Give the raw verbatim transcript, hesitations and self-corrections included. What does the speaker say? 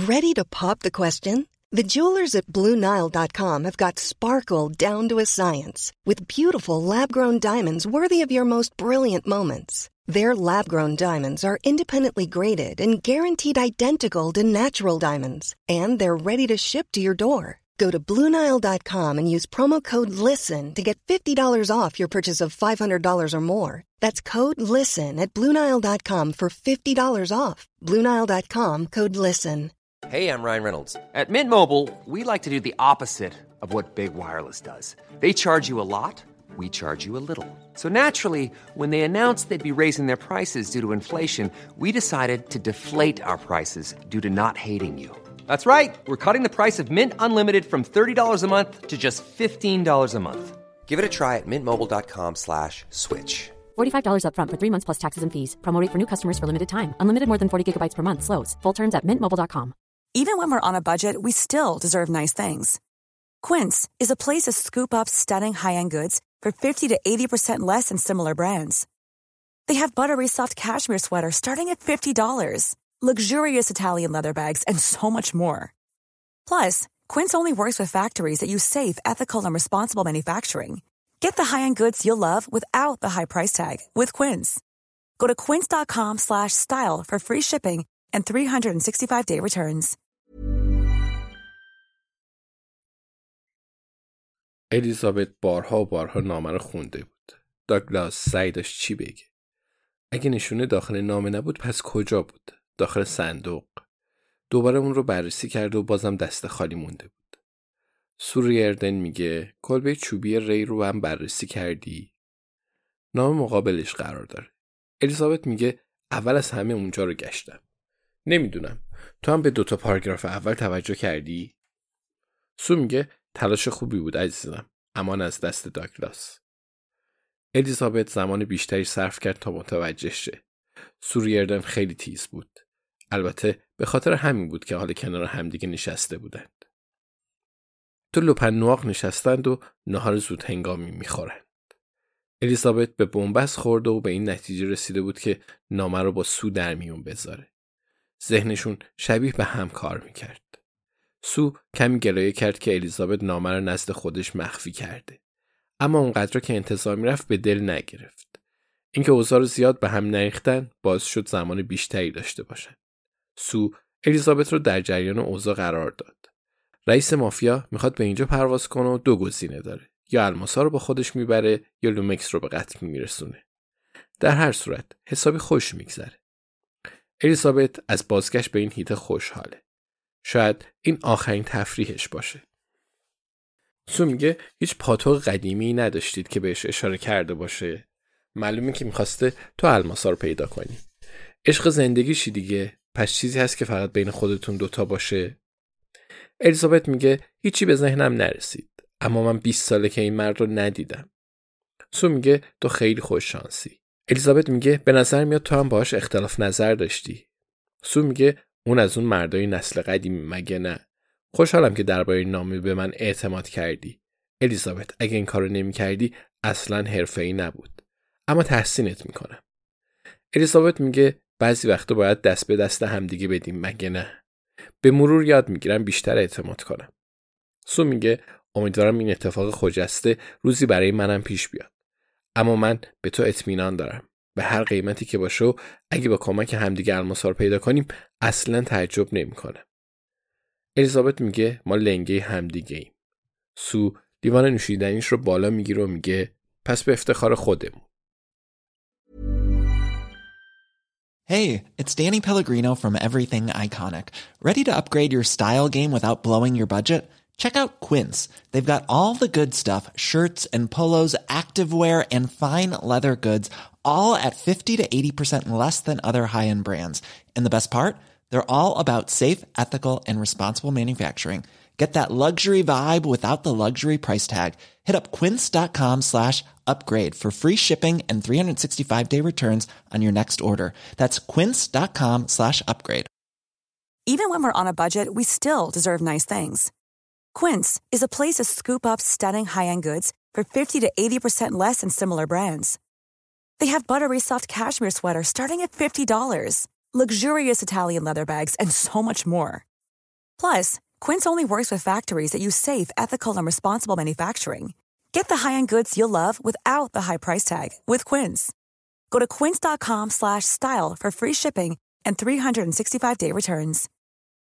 Ready to pop the question? The jewelers at Blue Nile dot com have got sparkle down to a science with beautiful lab-grown diamonds worthy of your most brilliant moments. Their lab-grown diamonds are independently graded and guaranteed identical to natural diamonds, and they're ready to ship to your door. Go to Blue Nile dot com and use promo code LISTEN to get fifty dollars off your purchase of five hundred dollars or more. That's code LISTEN at Blue Nile dot com for fifty dollars off. Blue Nile dot com, code LISTEN. Hey, I'm Ryan Reynolds. At Mint Mobile, we like to do the opposite of what Big Wireless does. They charge you a lot, we charge you a little. So naturally, when they announced they'd be raising their prices due to inflation, we decided to deflate our prices due to not hating you. That's right. We're cutting the price of Mint Unlimited from thirty dollars a month to just fifteen dollars a month. Give it a try at mintmobile.com slash switch. forty-five dollars up front for three months plus taxes and fees. Promo rate for new customers for limited time. Unlimited more than forty gigabytes per month. Slows full terms at mint mobile dot com. Even when we're on a budget, we still deserve nice things. Quince is a place to scoop up stunning high-end goods for fifty to eighty percent less than similar brands. They have buttery soft cashmere sweaters starting at fifty dollars, luxurious Italian leather bags, and so much more. Plus, Quince only works with factories that use safe, ethical, and responsible manufacturing. Get the high-end goods you'll love without the high price tag with Quince. Go to quince dot com slash style for free shipping and three sixty-five day returns. الیزابت بارها و بارها نامه رو خونده بود. داگلاس سعی داشت چی بگه. اگه نشونه داخل نامه نبود پس کجا بود؟ داخل صندوق. دوباره اون رو بررسی کرد و بازم دست خالی مونده بود. سو ریردن میگه کلبه چوبی ری رو هم بررسی کردی؟ نامه مقابلش قرار داره. الیزابت میگه اول از همه اونجا رو گشتم. نمیدونم. تو هم به دوتا پاراگراف اول توجه کردی؟ سو میگه تلاش خوبی بود عزیزم. امان از دست داگلاس. الیزابت زمان بیشتری صرف کرد تا متوجه شه. سو ریردن خیلی تیز بود. البته به خاطر همین بود که حالا کنار همدیگه نشسته بودند. تو لوپن نواق نشستند و نهار زود هنگامی میخورند. الیزابت به بنبست خورده و به این نتیجه رسیده بود که نامه رو با سو در میون بذاره. ذهنشون شبیه به هم کار میکرد. سو کمی گلایه کرد که الیزابت نامه رو نزد خودش مخفی کرده. اما اونقدر که انتظار میرفت به دل نگرفت. اینکه اوضاع رو زیاد به هم نریختن باعث شد زمان بیشتری داشته باشن. سو الیزابت رو در جریان اوضاع قرار داد. رئیس مافیا میخواد به اینجا پرواز کنه و دو گزینه داره. یا الماسا رو با خودش میبره یا لومکس رو به قتل میرسونه. در هر صورت حسابی خوش میگذره. الیزابت از بازگشت به این هیته خوشحاله. شاید این آخرین تفریحش باشه. سو میگه هیچ پاتوق قدیمی نداشتید که بهش اشاره کرده باشه. معلومه که میخواسته تو الماسا رو پیدا کنی. عشق زندگیشی دیگه. پس چیزی هست که فقط بین خودتون دوتا باشه. الیزابت میگه هیچی به ذهنم نرسید. اما من بیست ساله که این مرد رو ندیدم. سو میگه تو خیلی خوش شانسی. الیزابت میگه به نظر میاد تو هم باهاش اختلاف نظر داشتی. سو میگه اون از اون مردای نسل قدیمی مگه نه؟ خوشحالم که درباره نامه به من اعتماد کردی. الیزابت اگه این کارو نمی‌کردی اصلاً حرفه‌ای نبود. اما تحسینت میکنم. الیزابت میگه بعضی وقتا باید دست به دست همدیگه بدیم مگه نه؟ به مرور یاد میگیرم بیشتر اعتماد کنم. سو میگه امیدوارم این اتفاق خجسته روزی برای منم پیش بیاد. اما من به تو اطمینان دارم. به هر قیمتی که باشه اگه با کمک همدیگه الماسا رو پیدا کنیم اصلاً تعجب نمی‌کنم. الیزابت میگه ما لنگه همدیگه ایم. سو لیوان نوشیدنیش رو بالا میگیره و میگه پس به افتخار خودمون. Hey, it's Danny Pellegrino from Everything Iconic. Ready to upgrade your style game without blowing your budget? Check out Quince. They've got all the good stuff, shirts and polos, activewear and fine leather goods, all at fifty to eighty percent less than other high-end brands. And the best part? They're all about safe, ethical, and responsible manufacturing. Get that luxury vibe without the luxury price tag. Hit up quince.com slash upgrade for free shipping and three sixty-five day returns on your next order. That's quince.com slash upgrade. Even when we're on a budget, we still deserve nice things. Quince is a place to scoop up stunning high-end goods for fifty to eighty percent less than similar brands. They have buttery soft cashmere sweaters starting at fifty dollars, luxurious Italian leather bags, and so much more. Plus, Quince only works with factories that use safe, ethical, and responsible manufacturing. Get the high-end goods you'll love without the high price tag with Quince. Go to quince.com slash style for free shipping and three sixty-five day returns.